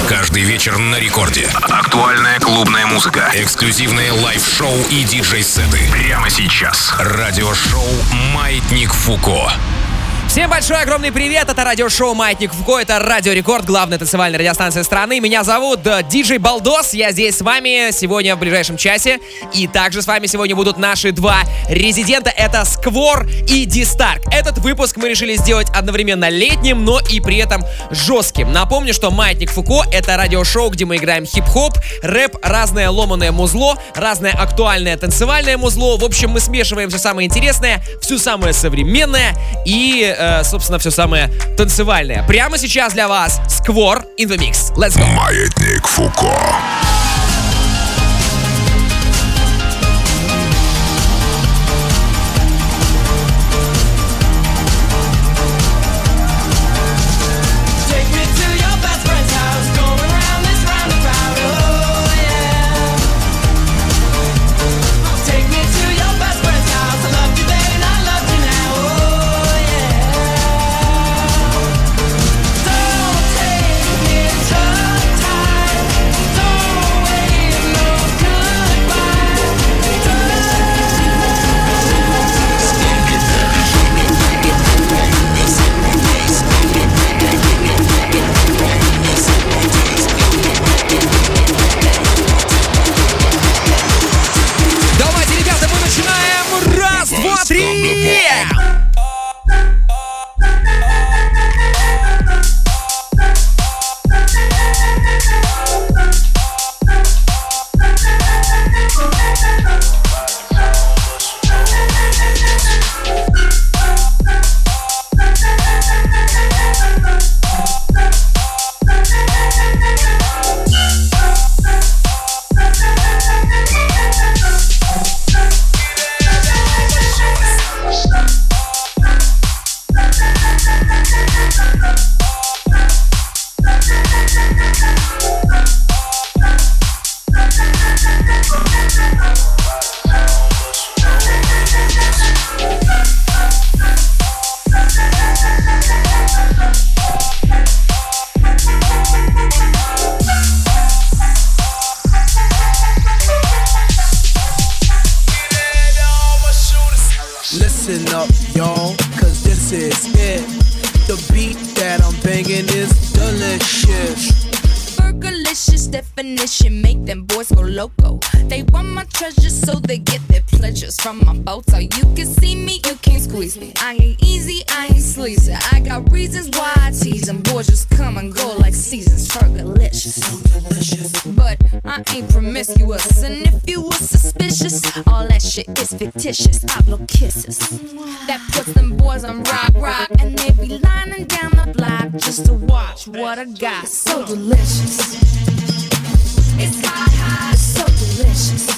Каждый вечер на рекорде. Актуальная клубная музыка, эксклюзивные лайв-шоу и диджей-сеты. Прямо сейчас. Радиошоу «Маятник Фуко». Всем большой огромный привет, это радиошоу «Маятник Фуко», это Радио Рекорд, главная танцевальная радиостанция страны. Меня зовут диджей Балдос, я здесь с вами сегодня в ближайшем часе. И также с вами сегодня будут наши два резидента, это Сквор и Дистарк. Этот выпуск мы решили сделать одновременно летним, но и при этом жестким. Напомню, что «Маятник Фуко» — это радиошоу, где мы играем хип-хоп, рэп, разное ломаное музло, разное актуальное танцевальное музло. В общем, мы смешиваем все самое интересное, все самое современное и... собственно, все самое танцевальное. Прямо сейчас для вас Сквор in the Mix. Let's go! Маятник Фуко. From my boat, so you can see me, you can't squeeze me. I ain't easy, I ain't sleazy. I got reasons why I tease them. Boys just come and go like seasons. Fergalicious, so delicious. But I ain't promiscuous, and if you were suspicious, all that shit is fictitious. I blow kisses that puts them boys on rock, and they be lining down the block just to watch what I got. So delicious, it's hot, it's so delicious.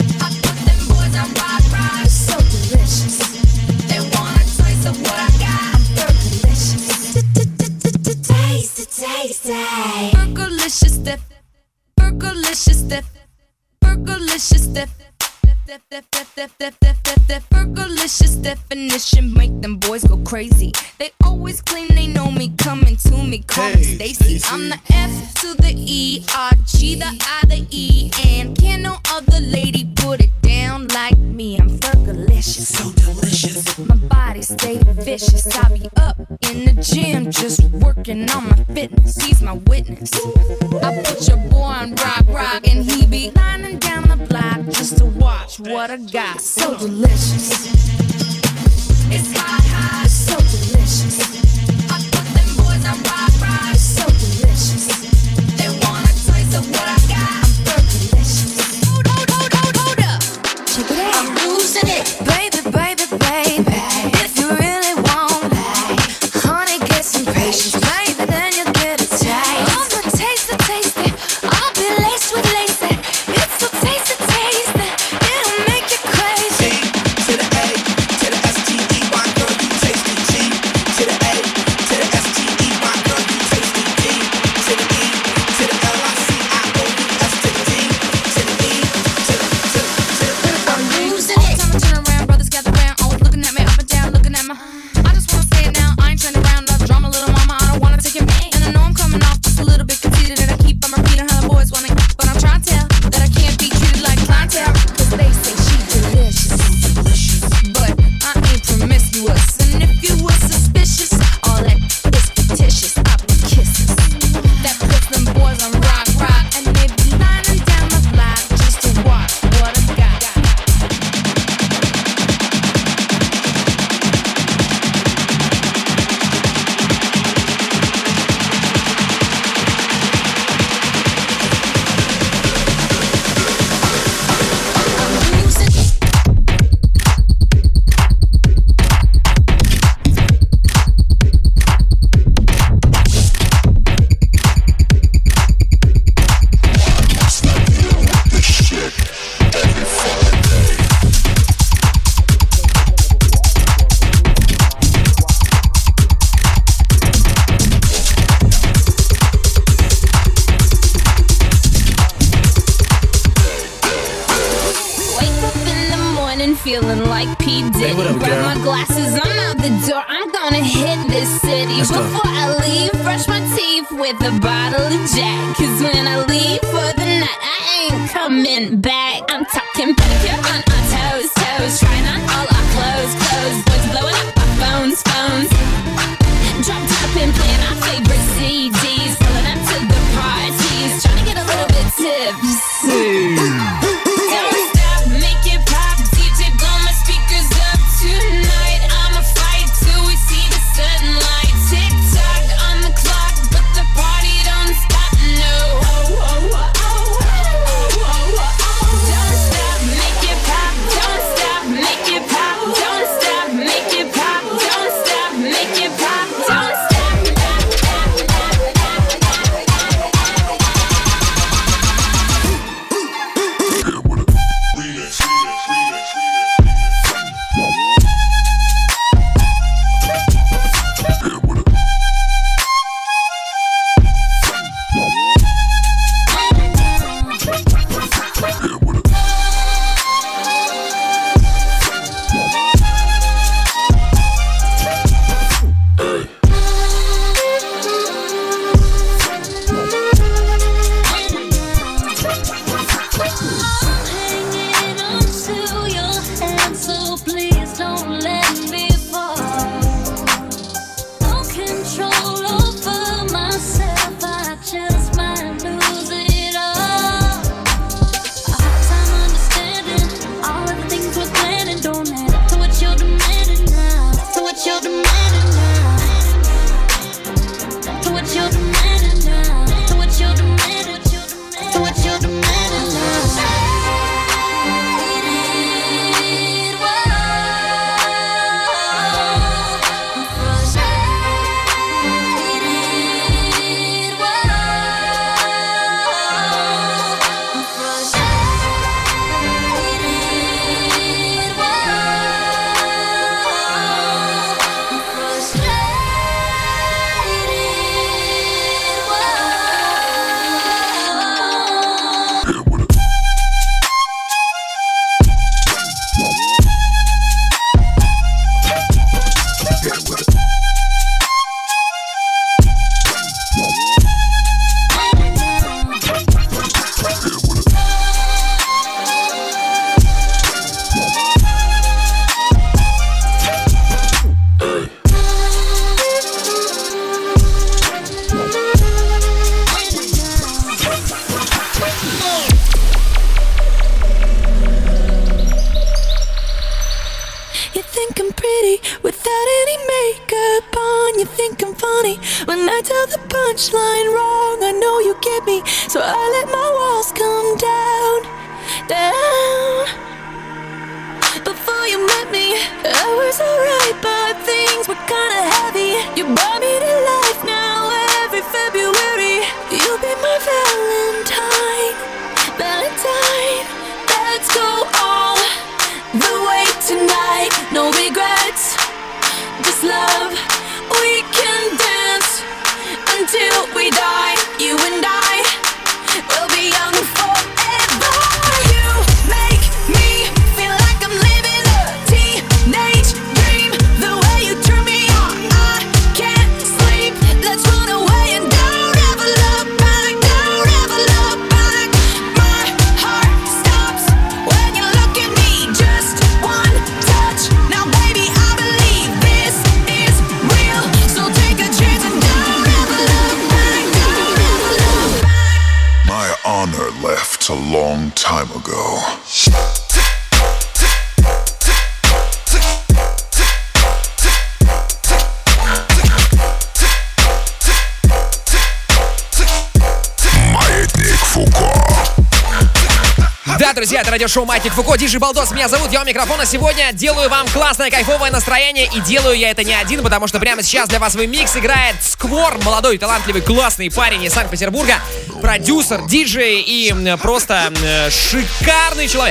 I'm rock, it's so delicious. They want a taste of what I got. I'm Fergalicious. Taste it. Fergalicious, Fergalicious, Fergalicious, Fergalicious definition make them boys go crazy. They always claim they know me, coming to me, call me Stacy. I'm the F to the E, R, G, the I, the E, and can no other lady put it down like me. I'm Fergalicious, so delicious. My body stay vicious. I be up in the gym just working on my fitness. He's my witness. I put your boy on rock, and he be lining down the block just to watch what I got. So delicious. It's hot, it's so delicious. I put them boys on rock, it's so delicious. They want a taste of what I got. I'm Fergalicious. Hold up. Check it out. I'm losing it. Baby. If you really want it, honey, get some patience. Maybe then you'll get a taste. I'ma taste it. I'll be laced with lace. It's so tasty. It'll make you crazy. To the A, to the S-T-E-Y, girl, you taste the G. To the A, feeling like P. Diddy. Grab my glasses, I'm out the door. I'm gonna hit this city. Before I leave, brush my teeth with a bottle of Jack. Cause when I leave for the night, I ain't coming back. I'm talking pedicure on our toes, toes. Trying on all our clothes, clothes. Boys blowing up our phones, phones. Drop top and playing our favorite CDs. Pulling up to the parties. Trying to get a little bit tipsy. Don't stop, make it pop. DJ blow my speakers up tonight. I'ma fight till we see the sunlight. Tick tock on the clock, but the party don't stop, no. Don't stop, make it pop. Don't stop, make it pop. Don't stop, make it pop. Don't stop, make it pop. Don't stop. Друзья, это радиошоу Маятник Фуко, диджей Балдос, меня зовут, я у микрофона. Сегодня делаю вам классное, кайфовое настроение, и делаю я это не один, потому что прямо сейчас для вас в микс играет Сквор, молодой, талантливый, классный парень из Санкт-Петербурга, продюсер, диджей и просто шикарный человек.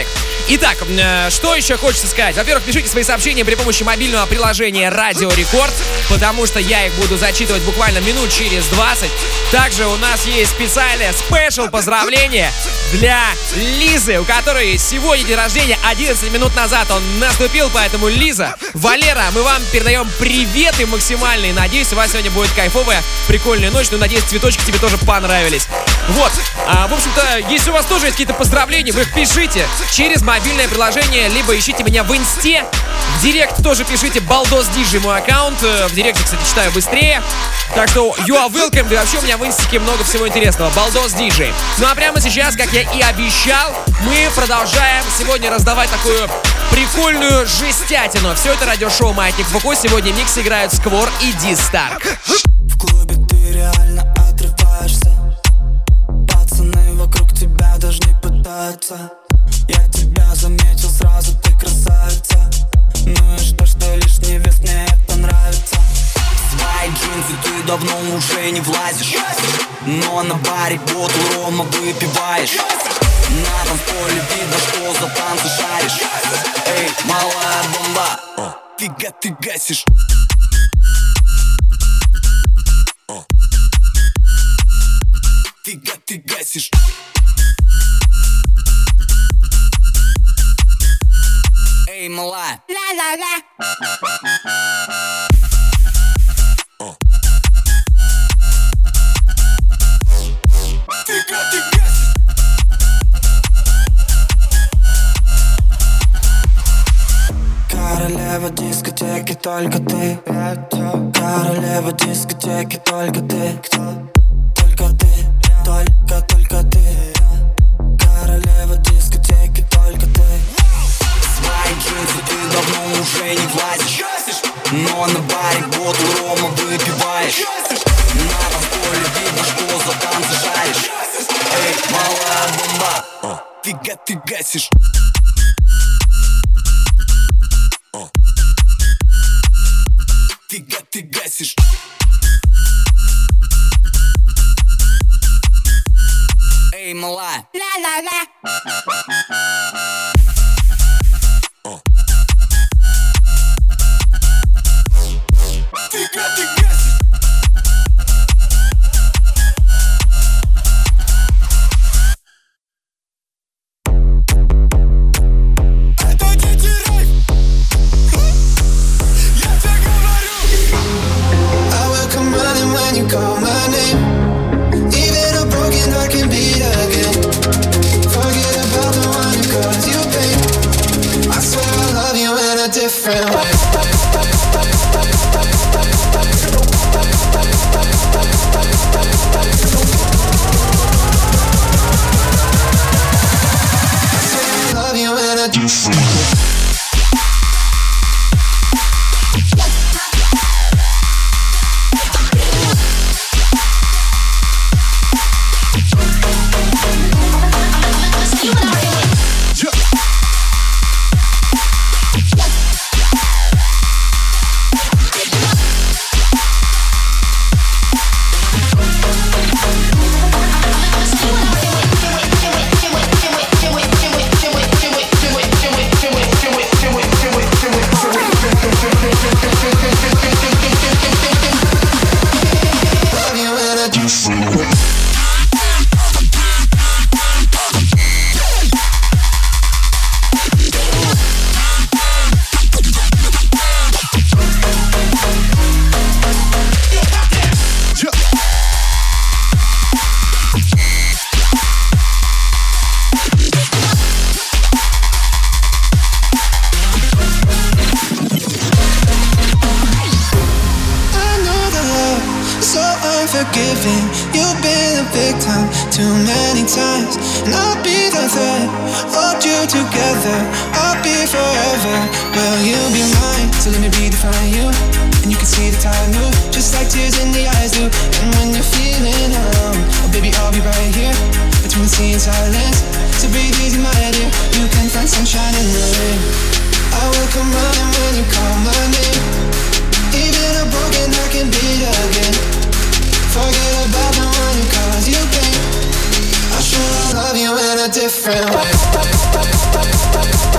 Итак, что еще хочется сказать? Во-первых, пишите свои сообщения при помощи мобильного приложения Радио Рекорд, потому что я их буду зачитывать буквально минут через 20. Также у нас есть специальное спешл поздравление для Лизы, у которой сегодня день рождения, 11 минут назад он наступил, поэтому Лиза, Валера, мы вам передаем приветы максимальные. Надеюсь, у вас сегодня будет кайфовая, прикольная ночь, но надеюсь, цветочки тебе тоже понравились. Вот, в общем-то, если у вас тоже есть какие-то поздравления, вы их пишите через мобильное приложение, либо ищите меня в инсте, в директ тоже пишите Балдос Диджей, мой аккаунт, в директе, кстати, читаю быстрее, так что you are welcome, да и вообще у меня в инстике много всего интересного, Балдос Диджей. Ну а прямо сейчас, как я и обещал, мы продолжаем сегодня раздавать такую прикольную жестятину. Все это радиошоу «Маятник Фуко», сегодня в миксе играют Сквор и Ди Старк. В клубе ты реально отрываешься, пацаны вокруг тебя даже не пытаются. Я тебя заметил сразу, ты красавица. Ну и что лишний вес, мне это нравится. В свои джинсы ты давно уже не влазишь, но на баре бутылку рома выпиваешь. На танцполе видно, что за танцы шаришь. Эй, малая бомба, фига ты гасишь. Фига ты гасишь. Эй, малая. Ла-ла-ла. Фига ты гасишь. Королева дискотеки, только ты. Королева дискотеки, только ты. Только ты, только ты. Королева дискотеки, только ты. В свои джинсы ты давно уже не влазишь, но на баре бутылку рома выпиваешь. На танцполе видно, что за танцы шаришь. Эй, малая бомба, фига ты гасишь. Фига ты гасишь. Эй, малая. Ла-ла-ла. Фига ты гасишь. Это диджей. Я тебе говорю. I will come running when you call my name. Even a broken heart can beat again. Forget about the one who caused you pain. I swear I love you in a different way. Unforgiving, you've been a victim too many times, and I'll be the thread, hold you together, I'll be forever. Will you be mine? So let me redefine you, and you can see the tide move, just like tears in the eyes do. And when you're feeling alone, oh baby, I'll be right here, between the sea and silence. So breathe easy, my dear, you can find sunshine in the rain. I will come running when you call my name. Even a broken heart can beat again. Forget about the one who caused you pain. I'll sure love you in a different way.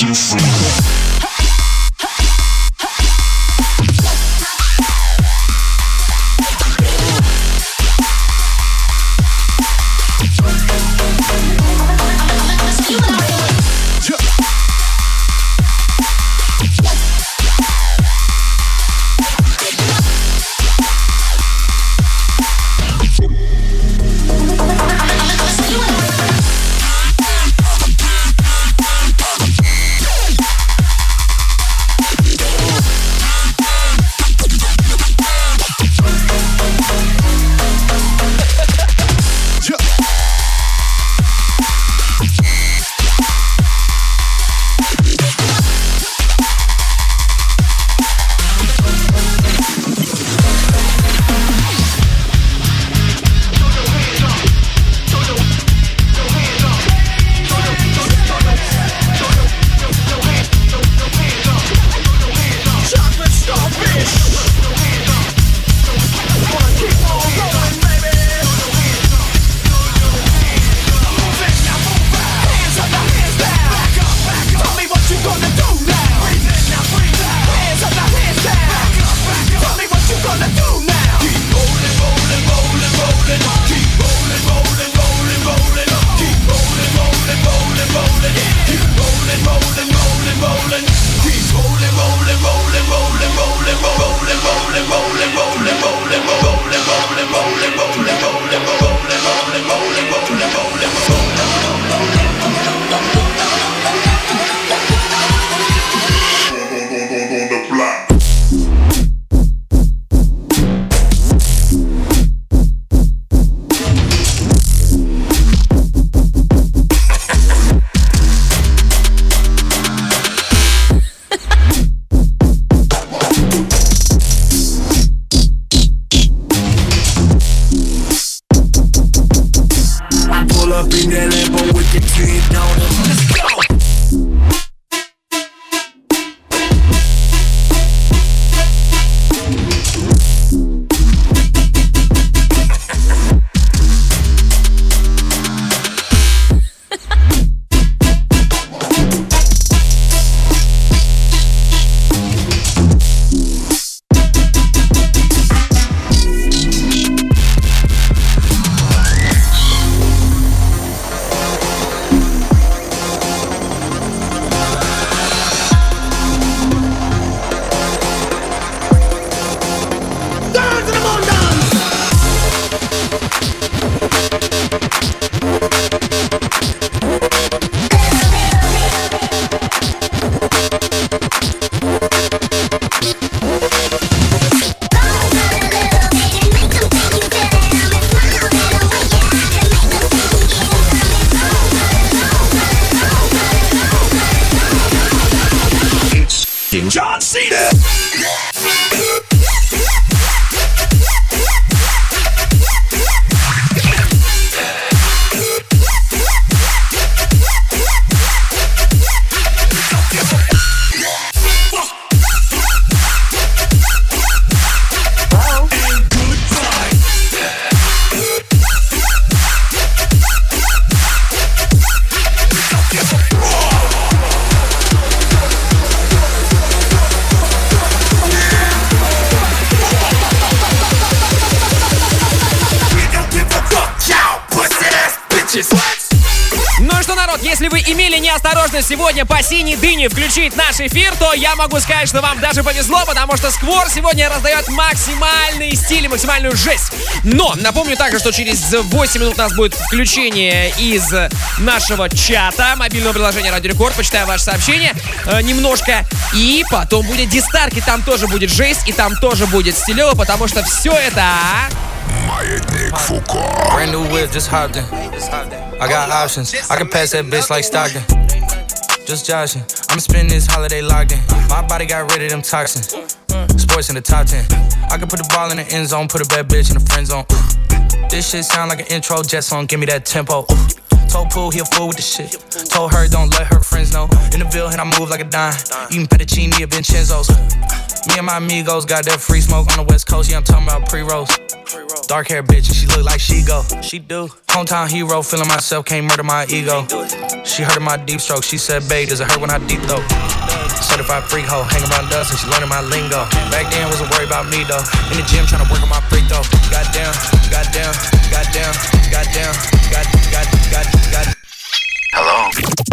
John Cena. Ну что, народ, если вы имели неосторожность сегодня по синей дыне включить наш эфир, то я могу сказать, что вам даже повезло, потому что Сквор сегодня раздает максимальный стиль и максимальную жесть. Но напомню также, что через 8 минут у нас будет включение из нашего чата, мобильного приложения Радио Рекорд. Почитаю ваше сообщение немножко. И потом будет дистарк, и там тоже будет жесть, и там тоже будет стилево, потому что все это... Маятник Фуко. Brand new whip, just hopped in. I got options. I can pass that bitch like Stockton. Just joshing. I'ma spend this holiday locked in. My body got rid of them toxins. Sports in the top 10. I can put the ball in the end zone, put a bad bitch in the friend zone. This shit sound like an intro jet song. Give me that tempo. Told Pooh he a fool with the shit. Told her don't let her friends know. In the Ville and I move like a dime. Eating fettuccine at Vincenzo's. Me and my amigos got that free smoke on the West Coast. Yeah, I'm talking about pre-rolls. Dark hair bitch and she look like she go. She do. Hometown hero, feeling myself, can't murder my ego. She heard of my deep stroke. She said, babe, does it hurt when I deep throat? Certified freak hoe, hang around dust and she learning my lingo. Back then wasn't worried about me though. In the gym trying to work on my freak though. Goddamn, goddamn, goddamn, goddamn, goddamn. Hello.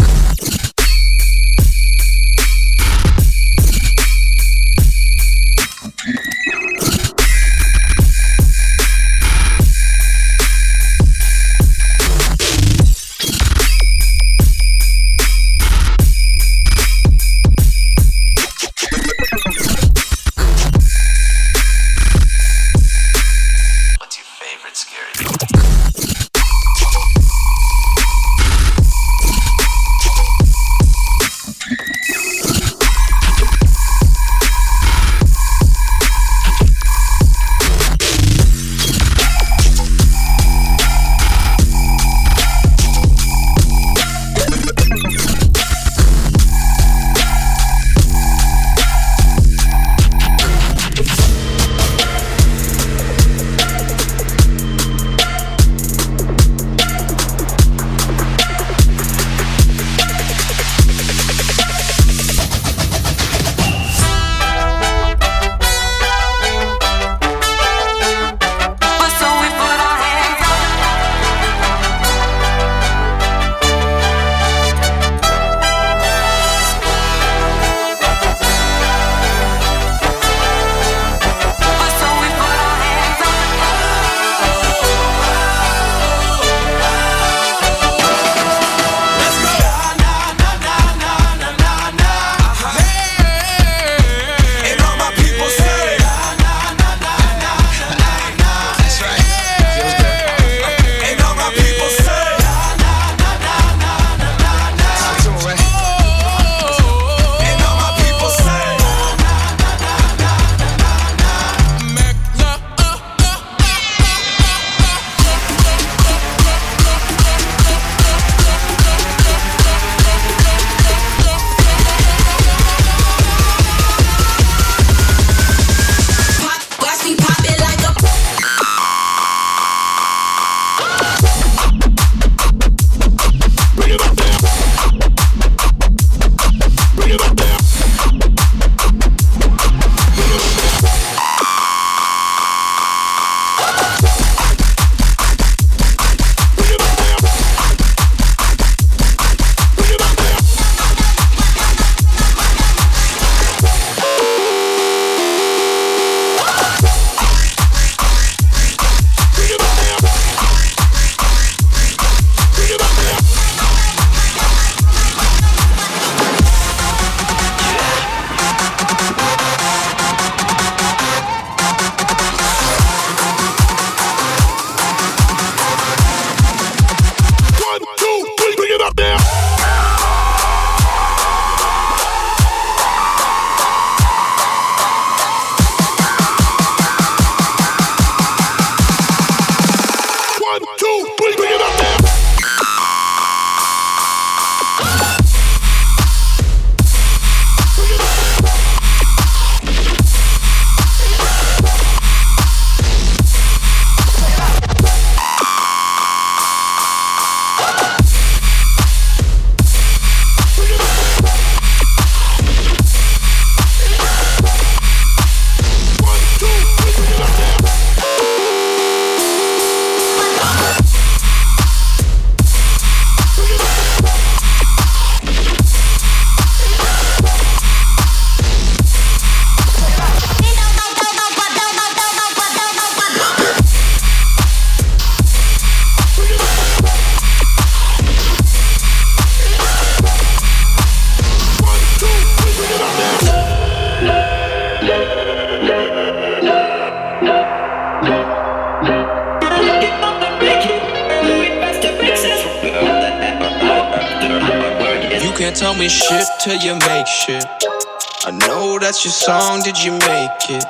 can't tell me shit till you make shit. I know that's your song, did you make it?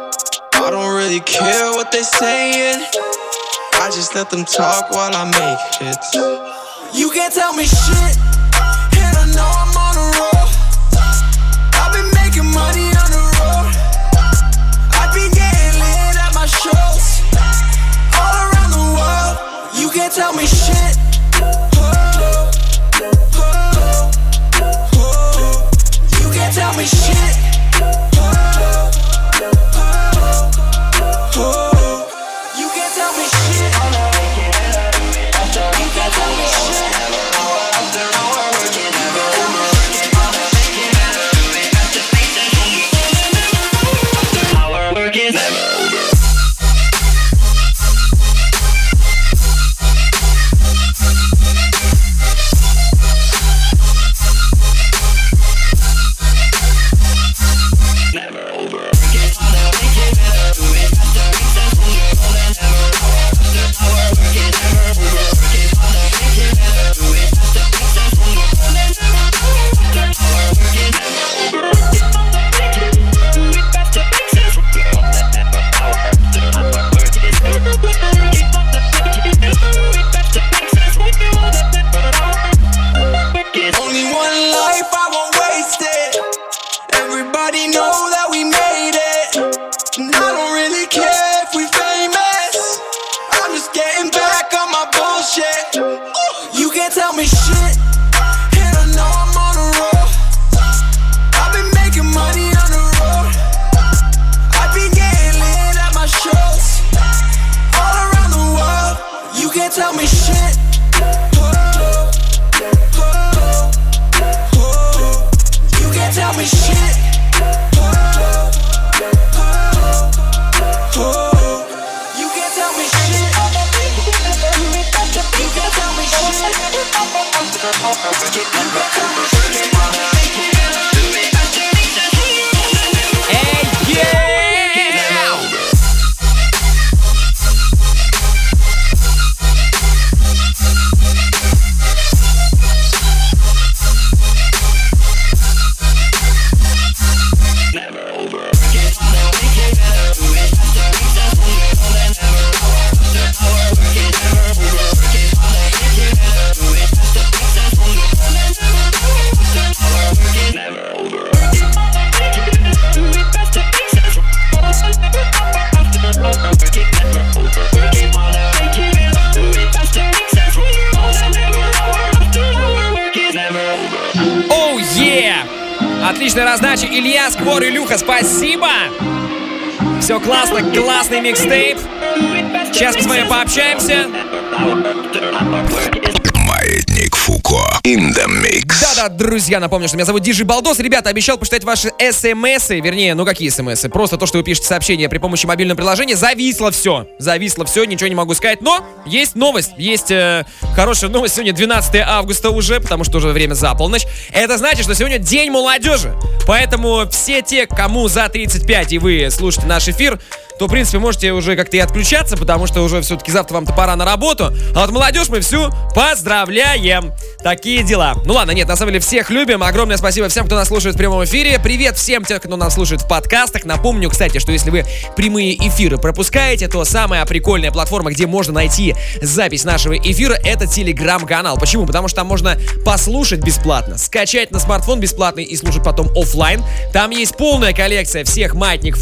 I don't really care what they saying, I just let them talk while I make hits. You can't tell me shit, and I know I'm on a roll. I've been making money on the road. I've been getting lit at my shows all around the world. You can't tell me shit. You can't tell me shit. You can't tell me shit. You can't tell me shit. Tell me shit. You can't tell me shit. You can't tell me shit. You can't tell me Отличная раздача. Илья, Сквор, Илюха, спасибо. Все классно, классный микстейп. Сейчас мы с вами пообщаемся. Маятник Фуко in the mix. Да-да, друзья, напомню, что меня зовут Диджей Балдос. Ребята, обещал почитать ваши смс-ы. Вернее, ну какие смс-ы? Просто то, что вы пишете сообщения при помощи мобильного приложения. Зависло все, ничего не могу сказать. Но есть новость, есть хорошая новость. Сегодня 12 августа уже, потому что уже время за полночь. Это значит, что сегодня День молодежи. Поэтому все те, кому за 35 и вы слушаете наш эфир, то, в принципе, можете уже как-то и отключаться, потому что уже все-таки завтра вам-то пора на работу. А вот молодежь мы всю поздравляем. Такие дела. Ну ладно, нет, на самом деле всех любим. Огромное спасибо всем, кто нас слушает в прямом эфире. Привет всем тем, кто нас слушает в подкастах. Напомню, кстати, что если вы прямые эфиры пропускаете, то самая прикольная платформа, где можно найти запись нашего эфира, это Телеграм-канал. Почему? Потому что там можно послушать бесплатно, скачать на смартфон бесплатно и слушать потом офлайн. Там есть полная коллекция всех маятников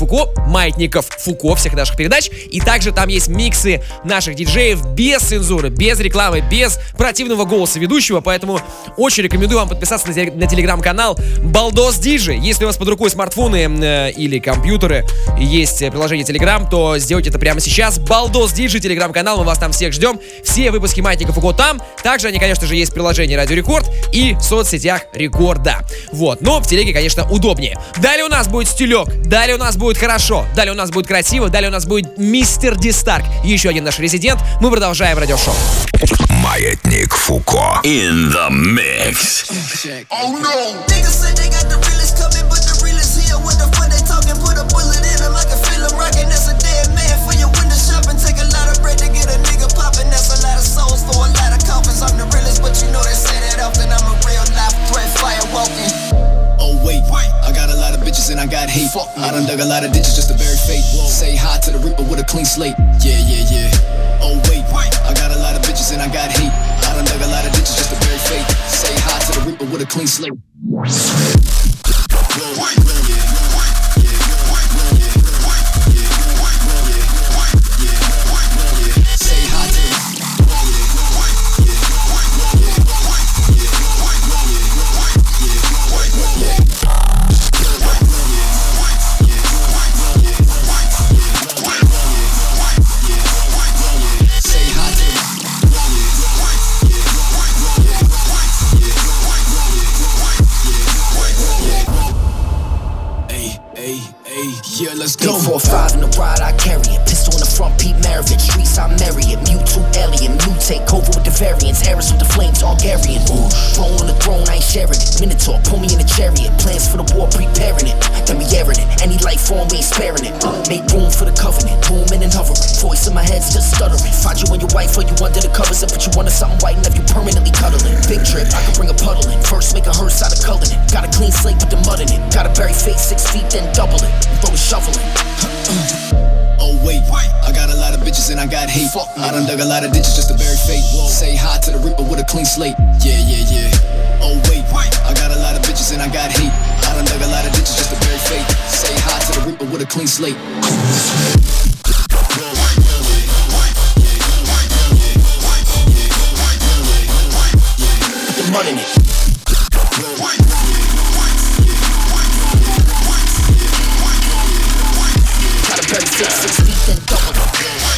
Фуко, всех наших передач. И также там есть миксы наших диджеев без цензуры, без рекламы, без противного голоса ведущего. Поэтому очень рекомендую вам подписаться на телеграм-канал Балдос Диджей. Если у вас под рукой смартфоны или компьютеры, есть приложение Телеграм, то сделайте это прямо сейчас. Балдос Диджей, телеграм-канал, мы вас там всех ждем. Все выпуски маятников Фуко там. Также они, конечно же, есть в приложении Радио Рекорд и в соцсетях Рекорда. Вот, но в телеге, конечно, удобнее. Далее у нас будет стилек, далее у нас будет хорошо, далее у нас будет красиво, далее у нас будет мистер Ди Старк, еще один наш резидент. Мы продолжаем радиошоу. Маятник Фуко in the mix. Oh no! Niggas say they got the realest coming, but the realest here. What the fuck they talking? Put a bullet in them, I can feel them rocking. That's a dead man for your window shopping. Take a lot of bread to get a nigga popping. That's a lot of souls for a lot of coffins. I'm the realest, but you know they say that often. I'm a real life threat, fire walking. Oh wait, I got a lot of bitches and I got hate. I done dug a lot of ditches just to bury fate. Say hi to the Reaper with a clean slate. Yeah. Oh wait, I got a lot of bitches and I got hate. I done dug a lot of ditches reaper with a clean slate. Yeah, let's go. 845 in the ride, I carry it. Pistol in the front, Pete Maravich. Streets, I marry it. Mewtwo, alien. Mutate, over with the variants. Eris with the flame, Targaryen. Throne on the throne, I ain't sharing it. Minotaur, pull me in a chariot. Plans for the war, preparing it. Then we airing it. Any life form, we ain't sparing it. Make room for the covenant. Booming and hovering. Voice in my head's just stuttering. Find you and your wife, or you under the covers. And put you under something white and have you permanently cuddling. Big trip, I can bring a puddle in. First make a hearse out of coloring it. Got a clean slate with the mud in it. Got a bury face 6 feet, then double it. Throw a shoveling. Oh wait, I got a lot of bitches and I got hate. I done dug a lot of ditches just to bury fate. Say hi to the reaper with a clean slate. Yeah. Oh wait, I got a lot of bitches and I got hate. I done dug a lot of ditches just to bury fate. Say hi to the reaper with a clean slate. Put the mud in it. Bury 6 feet, then double it.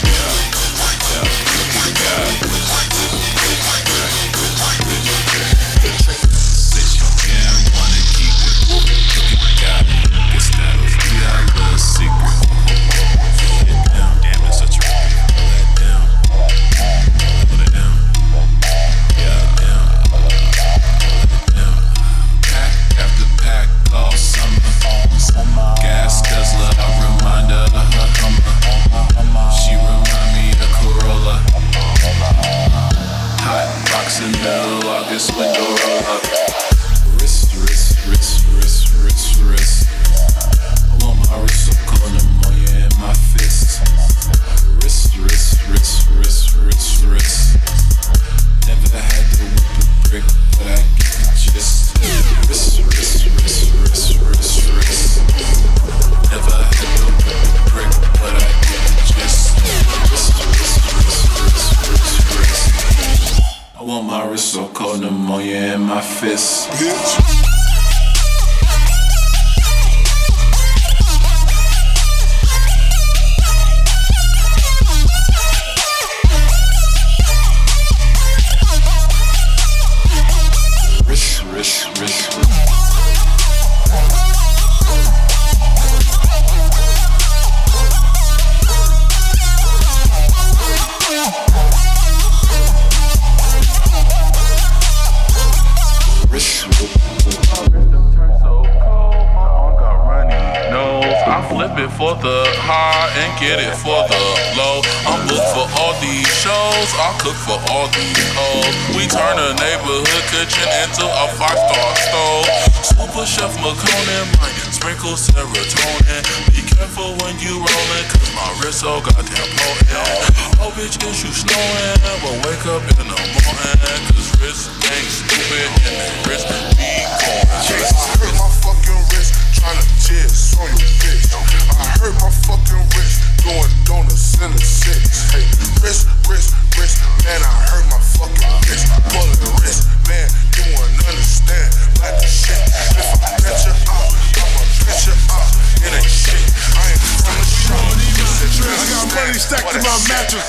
Get it for the low. I'm booked for all these shows. I cook for all these hoes. We turn a neighborhood kitchen into a 5-star stove. Super Chef McConan might sprinkle serotonin. Be careful when you rollin', cause my wrist so goddamn potent. Oh bitch, is you snowing? But wake up in the morning, cause wrist ain't stupid and the wrist be going. I hurt my fucking wrist tryna tears on your bitch. I hurt my fucking wrist doing donuts in the 6. Hey, wrist, man, I hurt my fucking wrist. Pulling the wrist, man, you wouldn't understand. Like the shit, if I bet you out, I'ma bet you out. It ain't shit, I ain't from the show. I got money stacked in my mattress.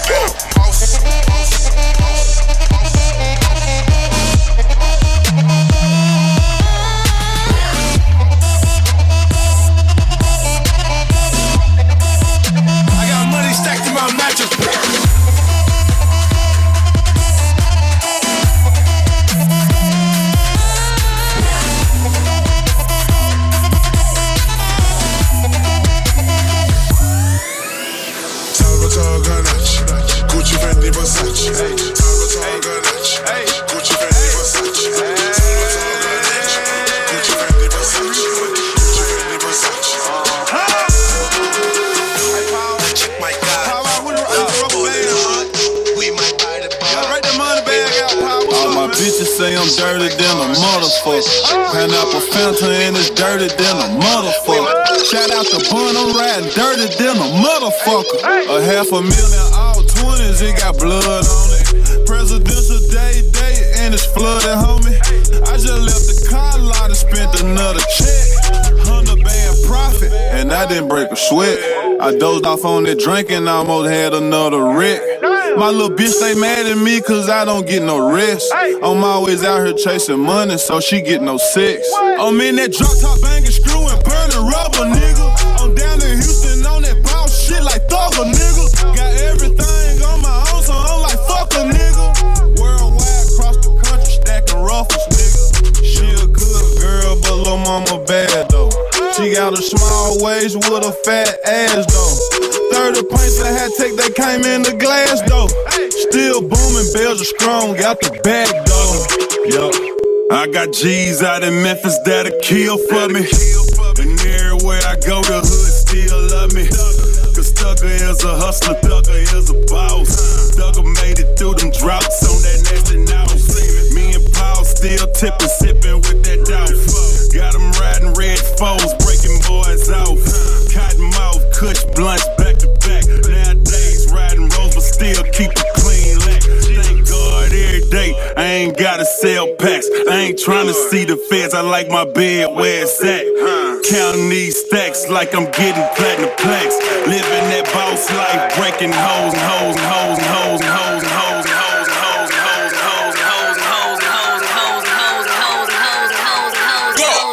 say I'm dirty than a motherfucker. Pineapple Fanta and it's dirty than a motherfucker. Shout out to Bun, I'm riding dirty than a motherfucker. $500,000 all 20s, it got blood on it. Presidential day, and it's flooded, homie. I just left the car lot and spent another check. 100 band profit, and I didn't break a sweat. I dozed off on that drinking, almost had another wreck. My little bitch stay mad at me cause I don't get no rest. I'm always out here chasing money, so she get no sex. I'm in that drop top banging, screwing, burning rubber, nigga. I'm down in Houston on that boss shit like Thugger, nigga. Got everything on my own, so I'm like, fuck a nigga. Worldwide, across the country, stacking ruffles, nigga. She a good girl, but lil' mama bad, though. She got a small waist with a fat ass, though. 30 pints I had take, they came in the glass, though. Still booming, bells are strong, got the bag, though. Yup. I got G's out in Memphis that'll kill for me. And everywhere I go, the hood still love me. Cause Thugger is a hustler, Thugger is a boss. Thugger made it through them droughts on that nasty nose. Me and Paul still tipping, sipping with that doubt. Got them riding red foes, breaking boys off. Cotton mouth, kush blunts back to back. Nowadays riding rolls, but still keep it clean lack. Thank God every day I ain't gotta sell packs. I ain't trying to see the feds, I like my bed where it's at. Counting these stacks like I'm getting platinum plaques. Living that boss life, breaking hoes and hoes and hoes and hoes and hoes and hoes and hoes and hoes and hoes and hoes and hoes and hoes and hoes and hoes and hoes and hoes and hoes and hoes and hoes and hoes.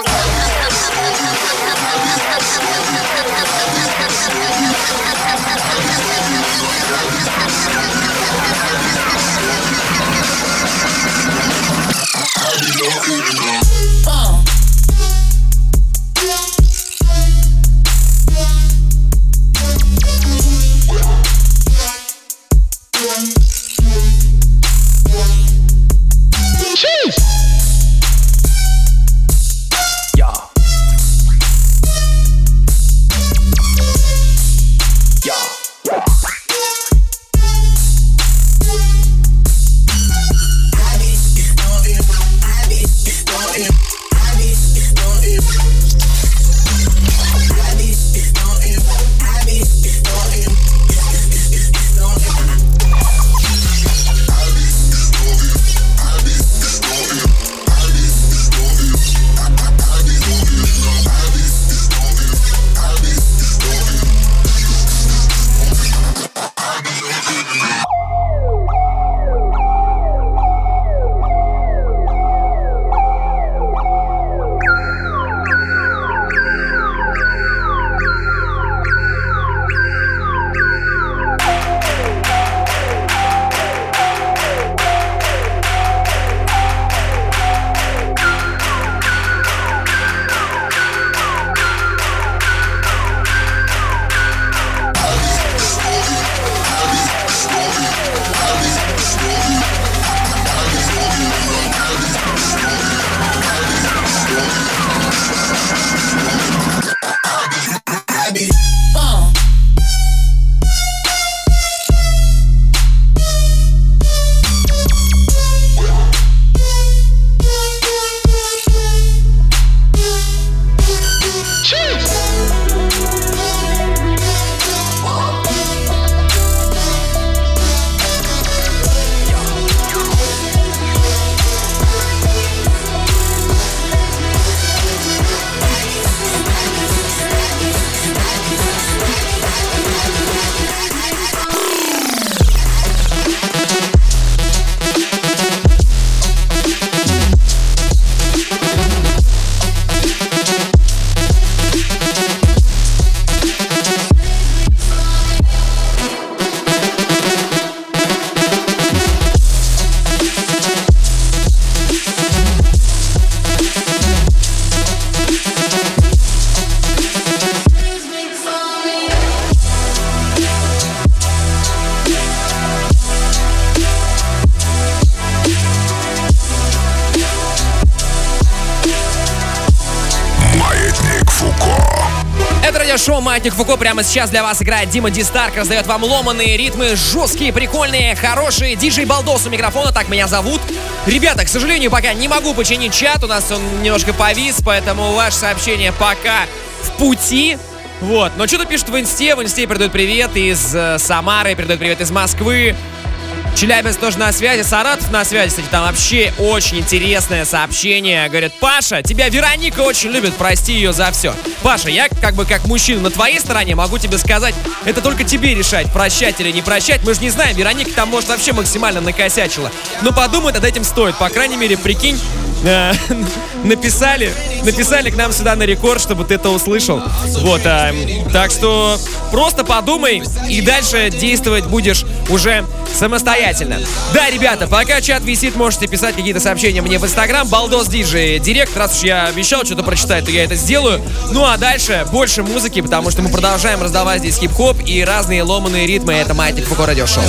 радиошоу «Маятник Фуко». Прямо сейчас для вас играет Дима Ди Старк, раздает вам ломаные ритмы, жесткие, прикольные, хорошие. Диджей Балдос у микрофона, так меня зовут. Ребята, к сожалению, пока не могу починить чат, у нас он немножко повис, поэтому ваше сообщение пока в пути. Вот, но что-то пишут в инсте передают привет из Самары, передают привет из Москвы. Челябинск тоже на связи, Саратов на связи, кстати, там вообще очень интересное сообщение. Говорят: Паша, тебя Вероника очень любит, прости ее за все. Паша, я как мужчина на твоей стороне могу тебе сказать, это только тебе решать, прощать или не прощать. Мы же не знаем, Вероника там, может, вообще максимально накосячила. Но подумать над этим стоит, по крайней мере, прикинь, написали к нам сюда на рекорд, чтобы ты это услышал. Вот, так что просто подумай и дальше действовать будешь уже самостоятельно. Да, ребята, пока чат висит, можете писать какие-то сообщения мне в Инстаграм. Балдос Диджей Директ. Раз уж я обещал что-то прочитать, то я это сделаю. Ну а дальше больше музыки, потому что мы продолжаем раздавать здесь хип-хоп и разные ломаные ритмы. Это Маятник Фуко радиошоу.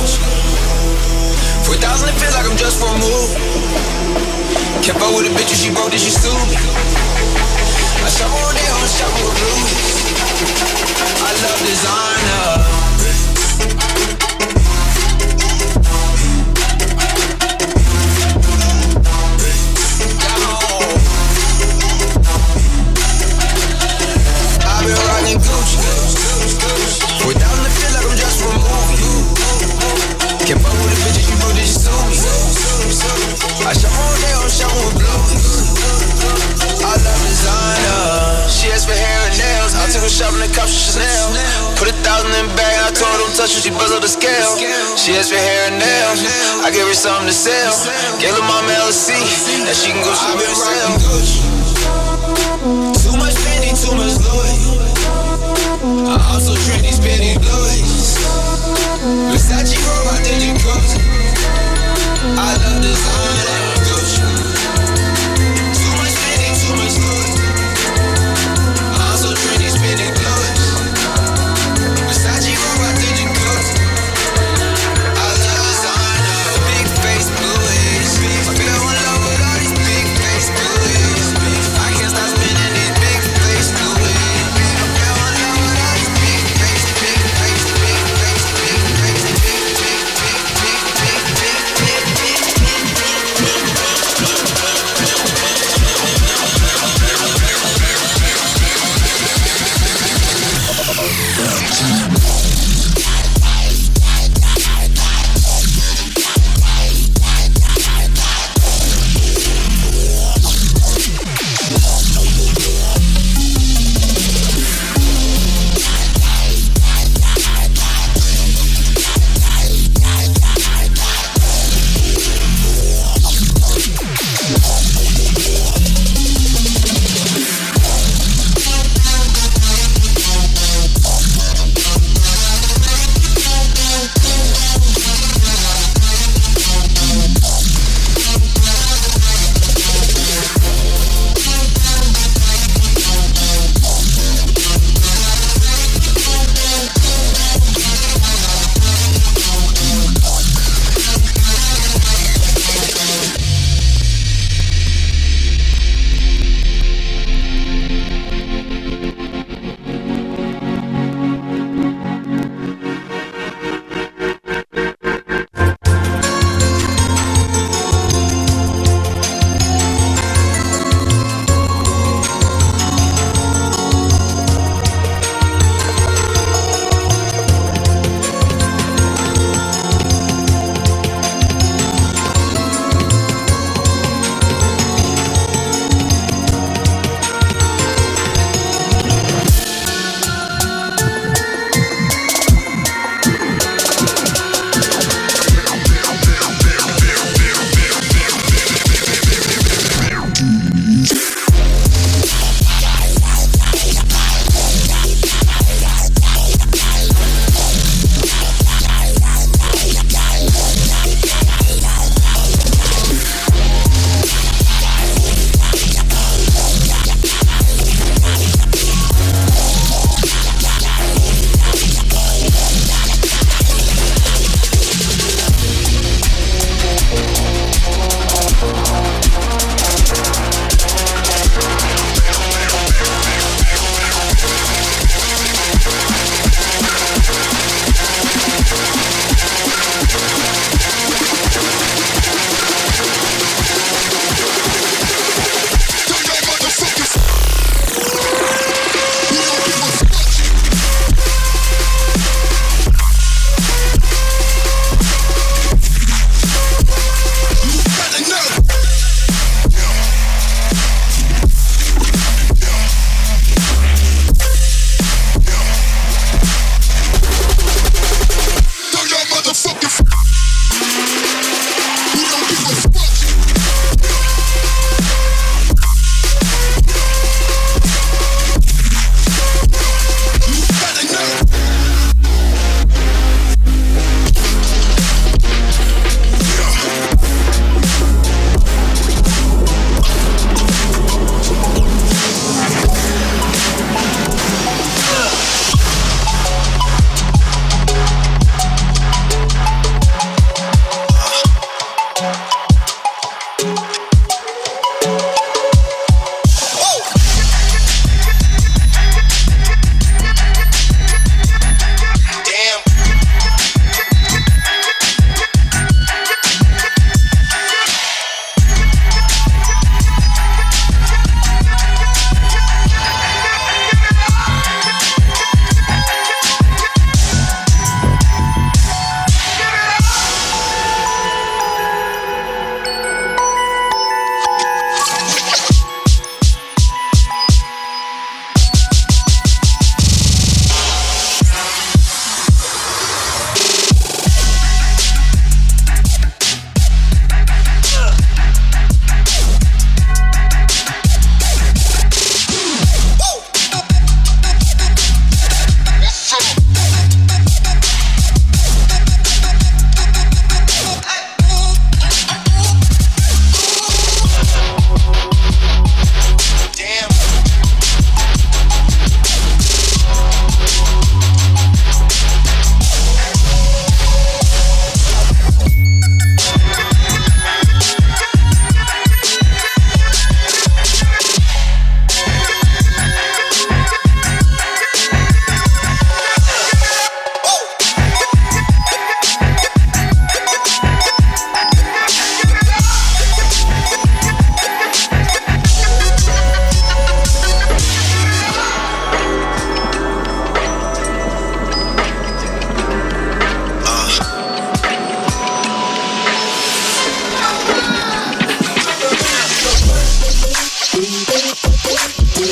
Kept up with a bitch and she broke, then she sued me. I shop all day on shop with blues. I love designer. I've been rocking Gucci. Without the feel like I'm just from a movie. Kept up with a bitch and she broke, then she sued me. I shop all day on shop with blues. I love designer. She asked for hair and nails. I took her shopping at Cops Chanel. Put 1,000 in the bag. I told her don't touch her. She buzzed up the scale. She asked for hair and nails. I gave her something to sell. Gave her mama LC. Now she can go shop it herself. Too much Fendi, too much Louis. I also drink these Benny Blues. Versace roll my daily clothes. I love designer. Too much Fendi, too much Louis. I also drink these Benny Blues. Versace roll my daily clothes. I love designer. Big face blues. I feel in love with all these big face blues.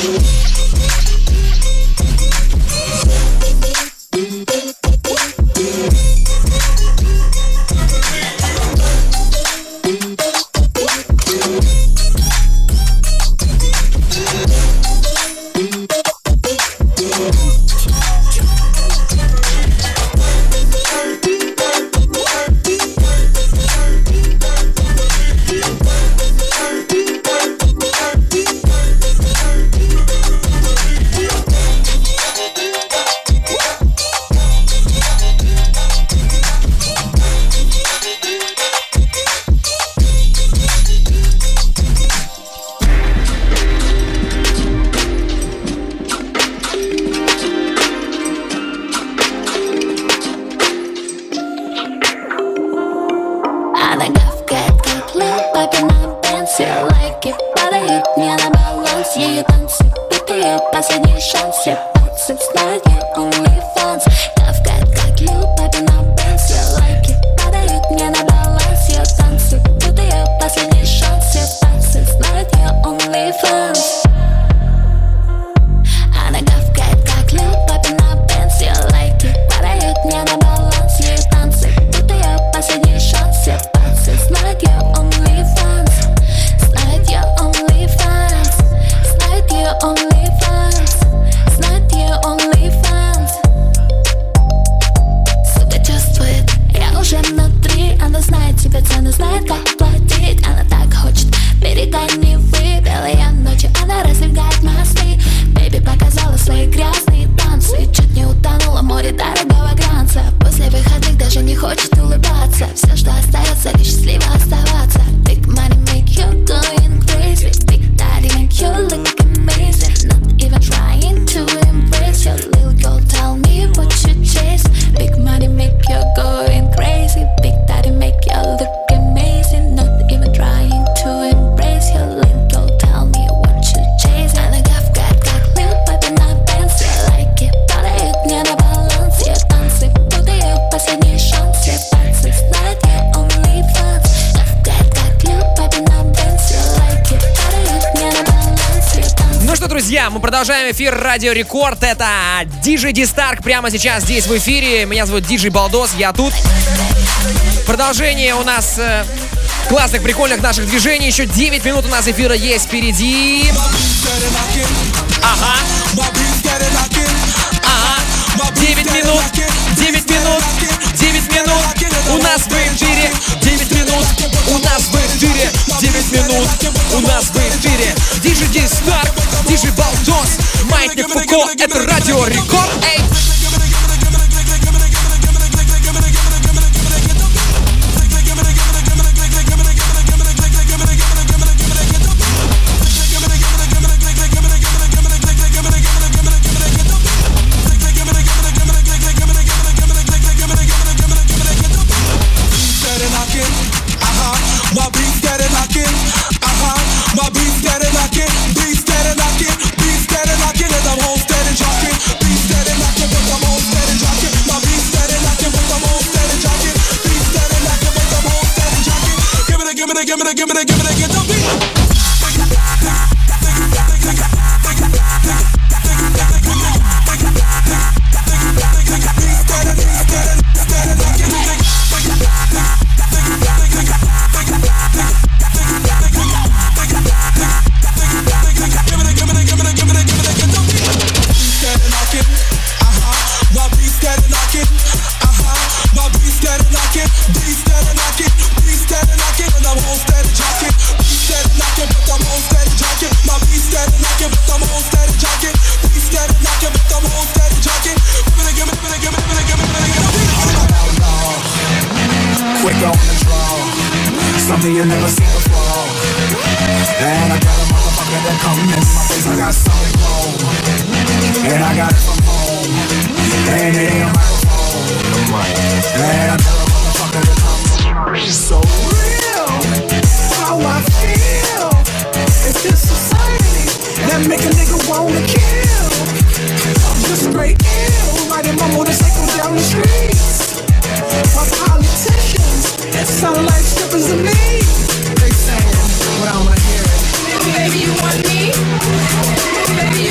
Мы продолжаем эфир Радио Рекорд. Это DJ D-Stark прямо сейчас здесь в эфире. Меня зовут DJ Балдос, я тут. Продолжение у нас классных, прикольных наших движений. Еще 9 минут у нас эфира есть впереди. Ага. 9 минут. 9 минут. 9 минут. У нас в эфире. 9 минут. У нас в эфире. 9 минут. У нас в эфире. DJ D-Stark, DJ Балдос, Маятник Фуко. Это Радио Рекорд. Эй! Something you never seen before. And I got a motherfucker that come in my face. I got solid gold, and I got it from home. And it ain't a microphone. And I tell a motherfucker to come. It's so real, how I feel. It's this society that make a nigga wanna kill. I'm just straight ill, riding my motorcycle down the streets. My politicians sound like strippers to me. They saying what I wanna hear. Baby, you want me? Baby,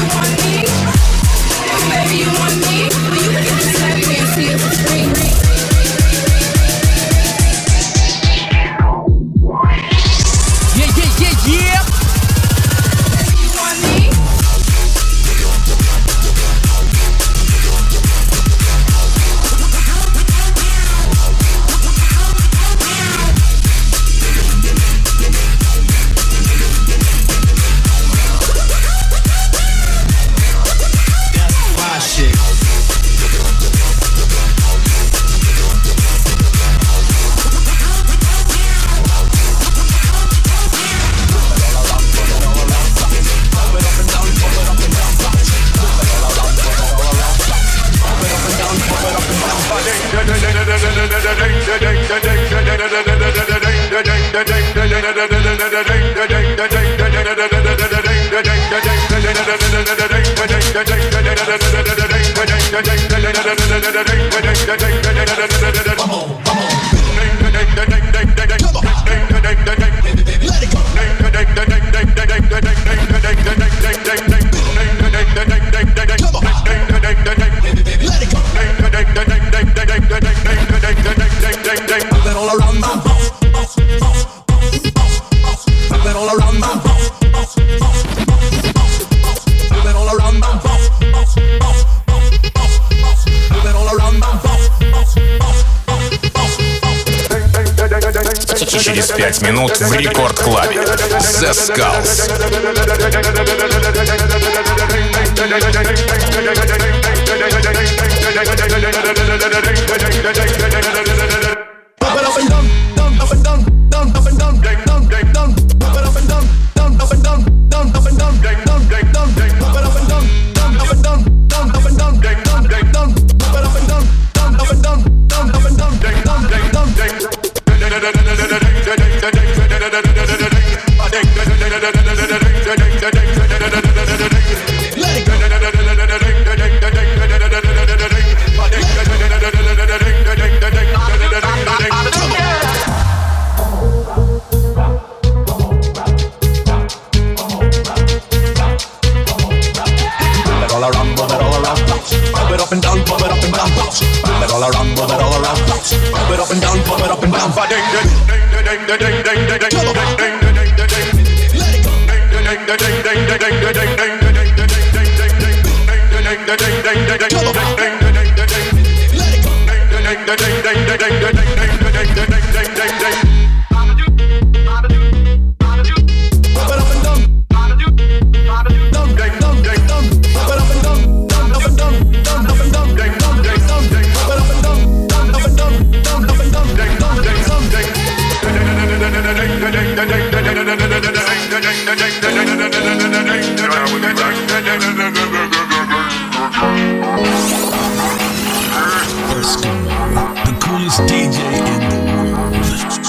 Через 5 минут в Рекорд-клабе. The Skulls. The coolest DJ in the world.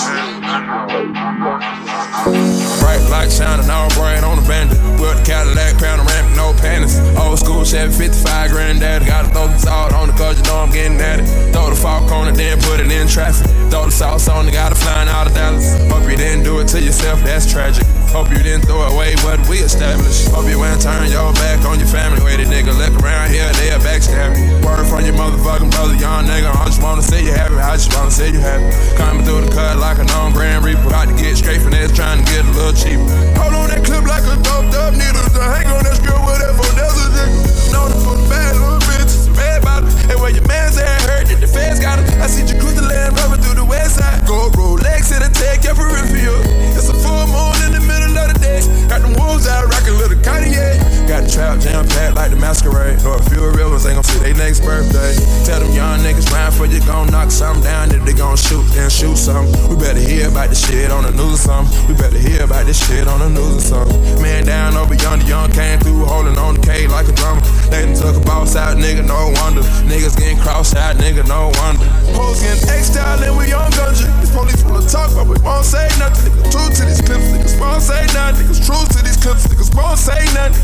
Bright light shining all bright on the bandit. With the Cadillac, panoramic, no panties. Old school Chevy 55 granddaddy. Gotta throw the salt on it cause you know I'm getting at it. Throw the fork on it, then put it in traffic. Throw the sauce on it, gotta flying out of Dallas. Hope you didn't do it to yourself, that's tragic. Hope you didn't throw away what we established. Hope you ain't turn your back on your family. Way the nigga look around here, they'll backstab me. Word from your motherfucking brother, young nigga. I just wanna see you happy, I just wanna see you happy. Coming through the cut like a known Grand Reaper. About to get straight finesse, trying to get a little cheaper. Hold on that clip like a doped up needle. To hang on that skirt with that for desert nigga. Known for the bad little bitches, red bottom. And where your man's at hurt, that the feds got him. I see you cruise the land, rubbing through the west side. Go Rolex, it'll take your peripheral. It's a full moon in the middle of the day. Got them wolves out, rockin' little Kanye. Got the trap jam packed like the masquerade. Or a few real ones ain't gon' see they next birthday. Tell them young niggas round for you gon' knock something down. If they gon' shoot, then shoot something. We better hear about this shit on the news or something. We better hear about this shit on the news or something. Man down over yonder, young came through, holding on the K like a drummer. They done took a boss out, nigga, no wonder. Niggas getting crossed out, nigga, no wonder. Hoes getting X-style and we on gunja. These police wanna talk, but we won't say nothing. Niggas true to these clips, niggas won't say nothing. Niggas true to these clips, niggas won't say nothing.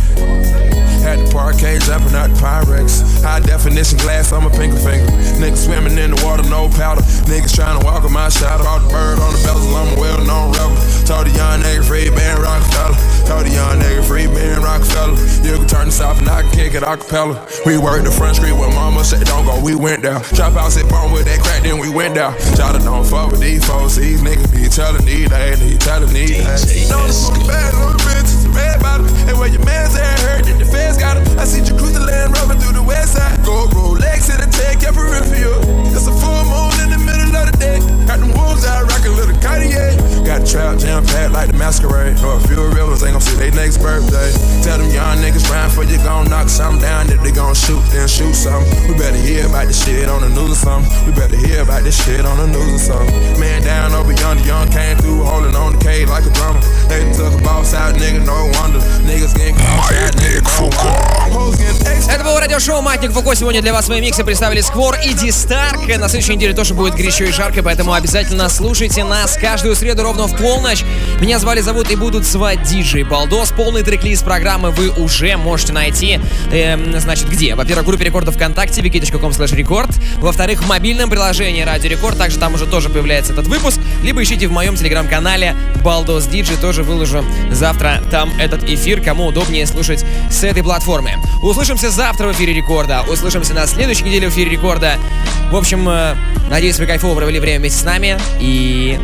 Had the parquet jumping out the Pyrex. High definition glass on my pinky finger. Niggas swimming in the water, no powder. Niggas trying to walk on my shadow. All the bird on the bezel, I'm a well-known rebel. Told the young nigga free Ben Rockefeller. Told the young nigga free Ben Rockefeller. You can turn this off and I can kick it acapella. We worked the front street where mama said don't go, we went down. Trap house at bone with that crack, then we went down. Shout out, don't fuck with these folks. These niggas be telling these days, they telling these days. Know them for the bad little bitches, red bottom. And where your man's at hurt, that the feds got him. I see you cruise the land, rubbing through the west side. Go Rolex, it'll take your peripheral. It's a full moon in the middle of the day. Got them wolves out, rockin' little Kanye. Got the trap jam packed like the masquerade. Or a few real ones ain't gon' see they next birthday. Tell them young niggas round for you gon' knock something down. If they gon' shoot, then shoot something. We better hear about this shit on the news or something. We better hear about this shit on the news or something. Man down over yonder, young came through, holding on the K like a drummer. They done took a boss out, nigga, no wonder. Niggas getting crossed out, nigga, no wonder. Это был радиошоу радиошоу «Маятник Фуко». Сегодня для вас свои миксы представили Сквор и Дистарк. На следующей неделе тоже будет горячо и жарко, поэтому обязательно слушайте нас каждую среду ровно в полночь. Меня зовут и будут звать диджей Балдос. Полный трек-лист программы вы уже можете найти. Значит, где? Во-первых, в группе рекордов ВКонтакте wiki.com/record. Во-вторых, в мобильном приложении Радио Рекорд. Также там уже тоже появляется этот выпуск. Либо ищите в моем телеграм-канале Балдос Диджей. Тоже выложу завтра там этот эфир, кому удобнее слушать с этой платформы. Услышимся завтра в эфире Рекорда. Услышимся на следующей неделе в эфире Рекорда. В общем, надеюсь, вы кайфово провели время вместе с нами. И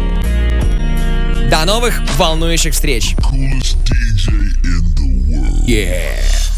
до новых волнующих встреч. Yeah.